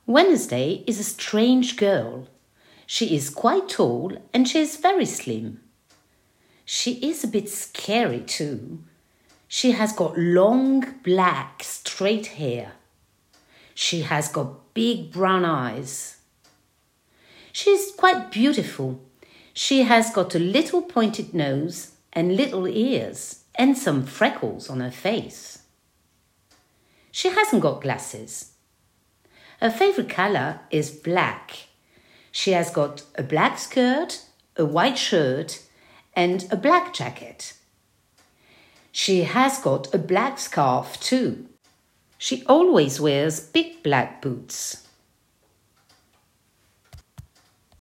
Wednesday is a strange girl. She is quite tall and she is very slim. She is a bit scary too. She has got long, black, straight hair. She has got big brown eyes. She is quite beautiful. She has got a little pointed nose and little ears and some freckles on her face. She hasn't got glasses. Her favourite colour is black. She has got a black skirt, a white shirt and a black jacket. She has got a black scarf too. She always wears big black boots.